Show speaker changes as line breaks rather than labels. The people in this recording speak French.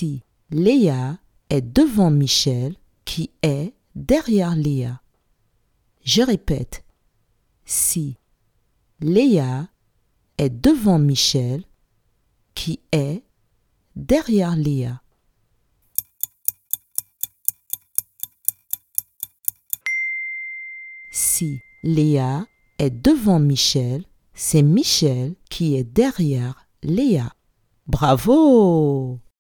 Si Léa est devant Michel, qui est derrière Léa. Je répète. Si Léa est devant Michel, qui est derrière Léa. Si Léa est devant Michel, c'est Michel qui est derrière Léa. Bravo!